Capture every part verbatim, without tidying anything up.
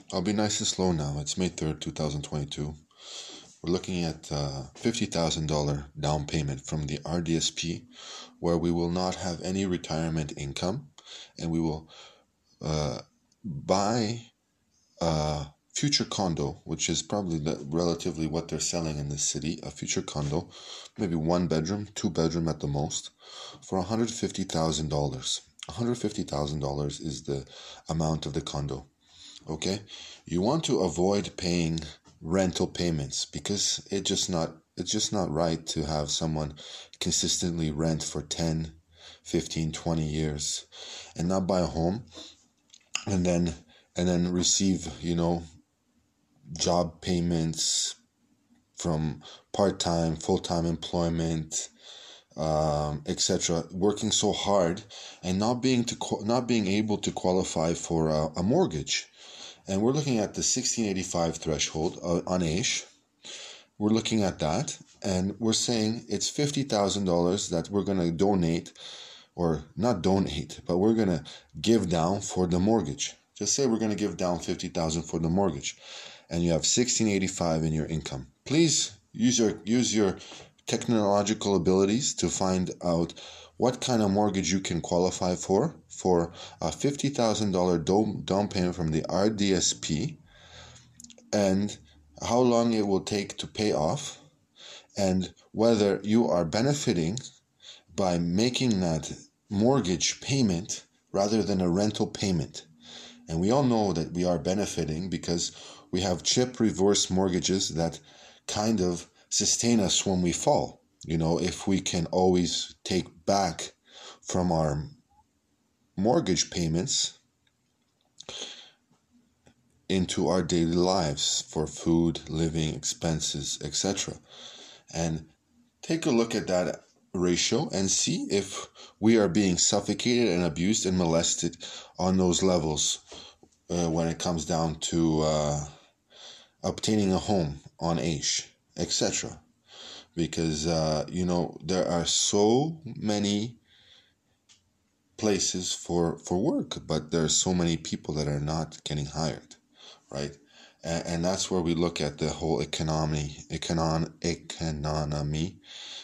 I'll be nice and slow now. It's May third, two thousand twenty-two. We're looking at uh, fifty thousand dollars down payment from the R D S P, where we will not have any retirement income, and we will uh, buy a future condo, which is probably the, relatively what they're selling in this city, a future condo, maybe one bedroom, two bedroom at the most, for one hundred fifty thousand dollars. one hundred fifty thousand dollars is the amount of the condo. Okay, you want to avoid paying rental payments because it just not it's just not right to have someone consistently rent for ten, fifteen, twenty years and not buy a home and then and then receive, you know, job payments from part-time, full-time employment, um, et cetera. Working so hard and not being to not being able to qualify for a, a mortgage. And we're looking at the sixteen eighty-five threshold uh, on A I S H. We're looking at that, and we're saying it's fifty thousand dollars that we're going to donate, or not donate, but we're going to give down for the mortgage. Just say we're going to give down fifty thousand dollars for the mortgage, and you have sixteen eighty-five in your income. Please use your use your technological abilities to find out what kind of mortgage you can qualify for for a fifty thousand dollars down payment from the R D S P, and how long it will take to pay off, and whether you are benefiting by making that mortgage payment rather than a rental payment. And we all know that we are benefiting because we have chip reverse mortgages that kind of sustain us when we fall. You know, if we can always take back from our mortgage payments into our daily lives for food, living expenses, et cetera. And take a look at that ratio and see if we are being suffocated and abused and molested on those levels uh, when it comes down to uh, obtaining a home on A I S H, et cetera. Because, uh, you know, there are so many places for, for work, but there are so many people that are not getting hired, right? And, and that's where we look at the whole economy, econon, economy,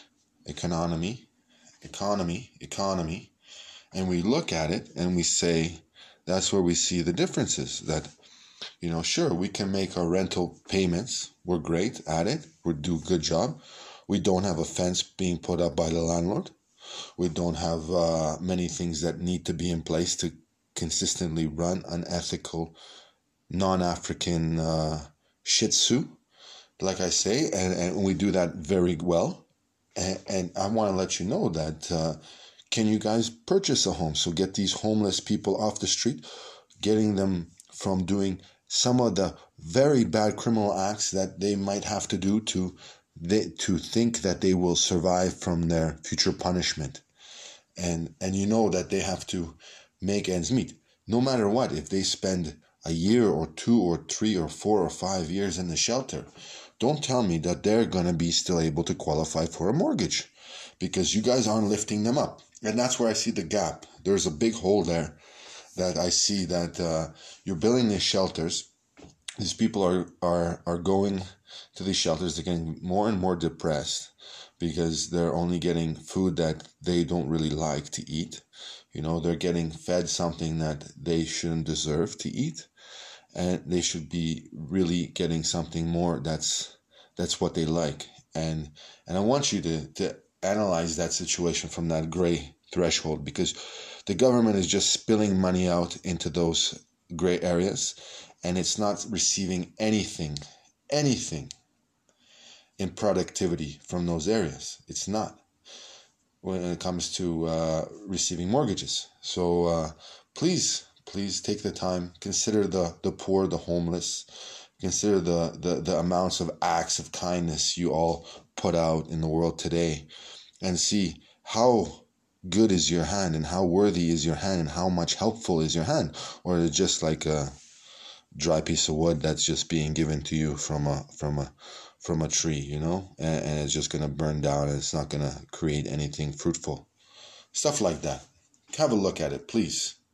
economy, economy, economy, and we look at it and we say, that's where we see the differences that, you know, sure, we can make our rental payments. We're great at it. We do a good job. We don't have a fence being put up by the landlord. We don't have uh, many things that need to be in place to consistently run an ethical, non-African uh, Shih Tzu, like I say, and, and we do that very well. And, and I want to let you know that uh, can you guys purchase a home? So get these homeless people off the street, getting them from doing some of the very bad criminal acts that they might have to do to They, to think that they will survive from their future punishment. And and you know that they have to make ends meet. No matter what, if they spend a year or two or three or four or five years in the shelter, don't tell me that they're going to be still able to qualify for a mortgage because you guys aren't lifting them up. And that's where I see the gap. There's a big hole there that I see that uh, you're building these shelters. These people are, are, are going to these shelters. They're getting more and more depressed because they're only getting food that they don't really like to eat. You know, they're getting fed something that they shouldn't deserve to eat. And they should be really getting something more that's that's what they like. And and I want you to, to analyze that situation from that gray threshold, because the government is just spilling money out into those gray areas, and it's not receiving anything, anything in productivity from those areas. It's not when it comes to uh, receiving mortgages. So uh, please, please take the time, consider the, the poor, the homeless, consider the, the, the amounts of acts of kindness you all put out in the world today, and see how good is your hand and how worthy is your hand and how much helpful is your hand, or is it just like a dry piece of wood that's just being given to you from a from a from a tree, you know, and, and it's just gonna burn down and it's not gonna create anything fruitful. Stuff like that. Have a look at it, please.